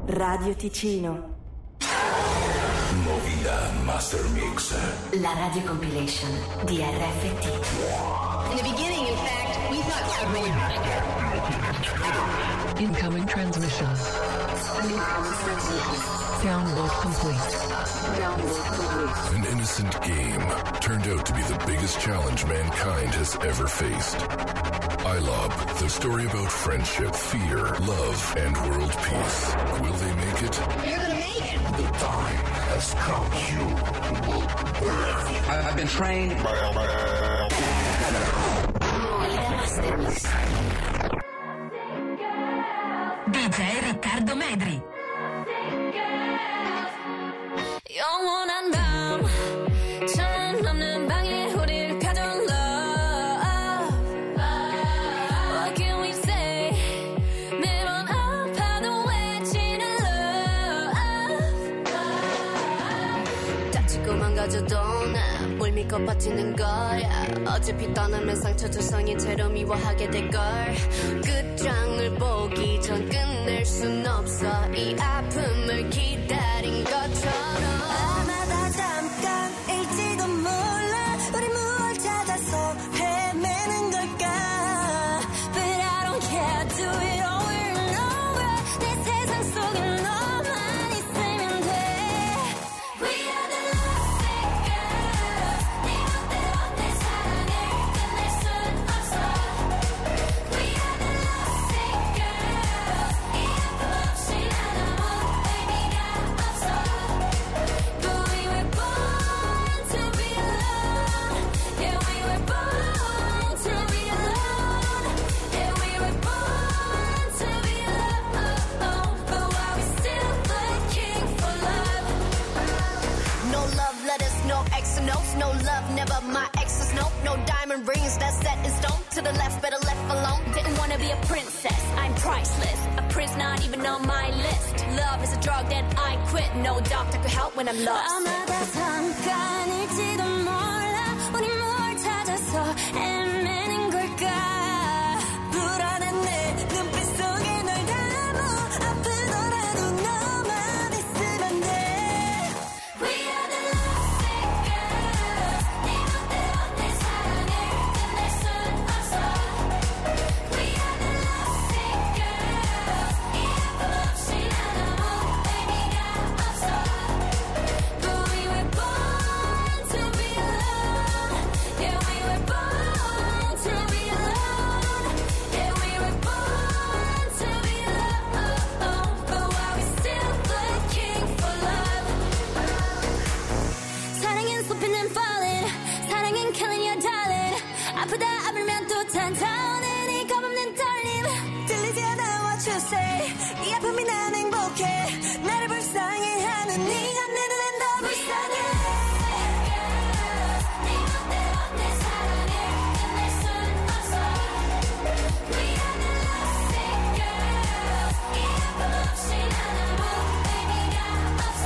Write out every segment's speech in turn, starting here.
Radio Ticino. Movida Master Mix. La radio compilation di RFT. In the beginning, in fact, we thought Incoming transmission. Download complete. An innocent game turned out to be the biggest challenge mankind has ever faced. iLob, the story about friendship, fear, love, and world peace. Will they make it? you're gonna make it. The time has come. I've been trained. DJ Riccardo Medri. 영원한 밤 천 넘는 방에 우릴 가둔 love. What can we say? 매번 아파도 외치는 love. 다치고 망가져도 난 뭘 믿고 버티는 거야. 어차피 떠나면 상처 조성이 채로 미워하게 될걸. 끝장을 보기 전 끝낼 순 없어. 이 아픔을 기다린 것처럼. 아마 다 잠깐일지도 몰라. 우리 무얼 찾아서 헤매는 걸까. But I don't care. Do it over and over. 내 세상 속에 너만 있으면 돼. We are the lovesick girls. 네 멋대로 내 사랑을 끝낼 순 없어. We are the lovesick girls. 이 아픔 없이 난 아무 의미가 없어. But we were born to be alone. Yeah, we were born to be alone. Yeah, we were born to be alone. But why we still looking for love? No love letters, no X notes, no love, never my exes, no diamond rings that's set in stone. To the left, better left alone. Didn't wanna be a princess, I'm priceless. A prince not even on my list. Love is a drug that I quit. No doctor could help when I'm lost. 아마다 잠깐일지도 몰라. 우리 뭘 찾아서 헤매는 걸까. 불안한 내 눈빛 속에 널 담아. 아프더라도 너만 있으면 돼. We are the lovesick girls. 네 멋대로 내 사랑을 끝낼 순 없어. We are the lovesick girls. 이 아픔 없이 난 아무 의미가 없어. But we were born to be alone. Yeah, we were born to be alone. Yeah, we were born to be alone. But why we still looking for love? 사랑은 쏟히는 falling. 사랑은 killing your darling. 아프다 아물면 또 탄타오는 이 겁없는 떨림. 들리지 않아 what you say. 이 아픔이 난 행복해. 나를 불쌍해 하는 네가 내 눈엔 더 불쌍해. 네 멋대로 내 사랑을 끝낼 순 없어. We are the lovesick girls. 이 아픔 없이 난 아무 의미가 없어.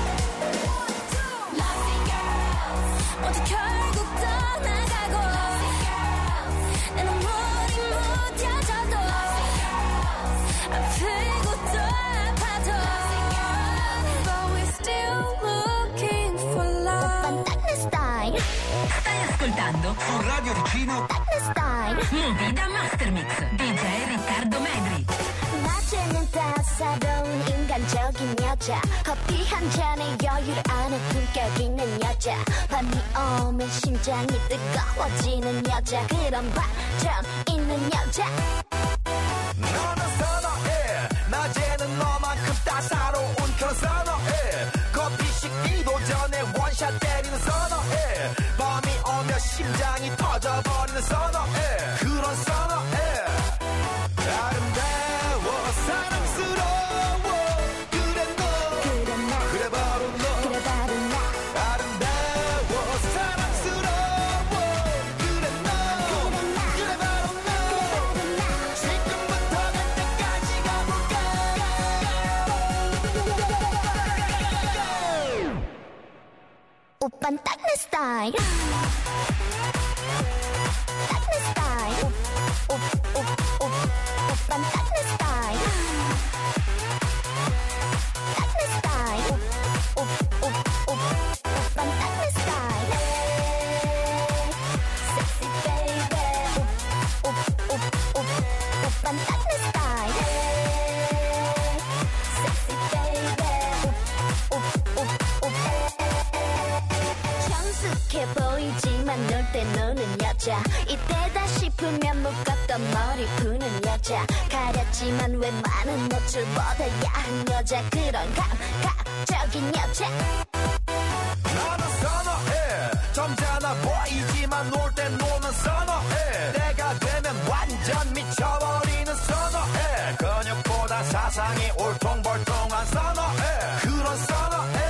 Lovesick girls. 모두 결국 떠나가고. 내 눈물이 묻혀져도 아프고 또 아파도. But we're still looking for love. 오빤 스타일. Stai ascoltando Radio Ticino. 스타일. Movida Master Mix. DJ Riccardo Medri. 낮에는 따사로운 인간적인 여자. 커피 한 잔에 여유를 아는 품격 있는 여자. 밤이 오면 심장이 뜨거워지는 여자. 그런 반전 있는 여자. 너는 선어해. 낮에는 너만큼 따사로운 그런 선어해. 커피 식기도 전에 원샷 때리는 선어해. 밤이 오면 심장이 터져버리는 선어해. 그런 선어해. 아름다워 사랑스러워. 그래 너 그래 바로 너 아름다워 사랑스러워. 그래 너 그래 바로 너 지금부터 갈 때까지 가볼까. 오빤 딱 내 스타일. 딱 내 스타일. 오빤 딱 내 스타일. 앞에 노는 여자 이때다 싶으면 묶었던 머리 푸는 여자 가렸지만 왜 많은 노출보다 야한 여자 그런 감각적인 여자 나는 선어해 점잖아 보이지만 놀 땐 노는 선어해 내가 되면 완전 미쳐버리는 선어해 근육보다 사상이 울퉁불퉁한 선어해 그런 선어해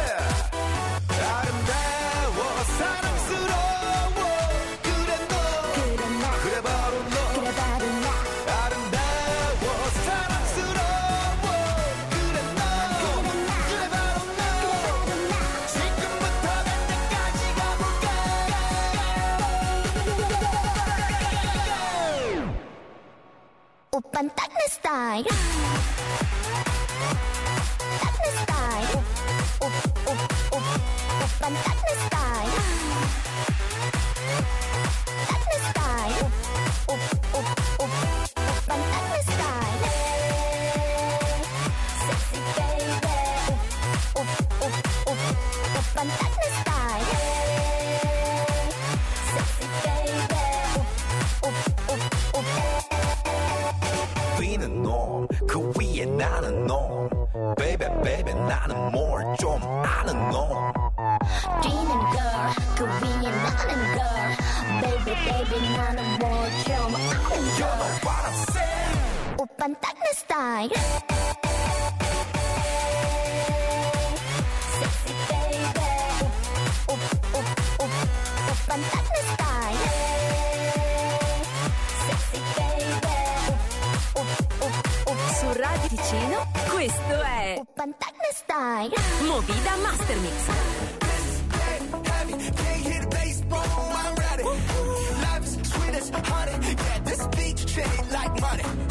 아름다워 사랑스러워 그래 너 그래 바로 너 아름다워 사랑스러워 그래 너 그래 바로 너 지금부터 갈 때까지 가볼까 오빤 딱 내 스타일 딱 내 스타일 오빤 딱 내 스타일 딱 내 스타일 오빤 딱 내 스타일 섹시 베이비 오빤 딱 내 스타일 섹시 베이비 뛰는 놈 그 위에 나는 놈 Baby baby 나는 뭘 좀 아는 놈 뛰는 girl 그 위에 나는 girl baby baby 나는 뭘 좀 아는 You know girl what I'm saying 오빤 딱 내 스타일 sexy baby 오빤 딱 내 스타일 sexy baby Su Radio Ticino, questo è 오빤 딱 내 스타일 Movida Master Mix. Heavy, can't hit baseball, I'm ready Life is sweet as honey Yeah, this beach treat like money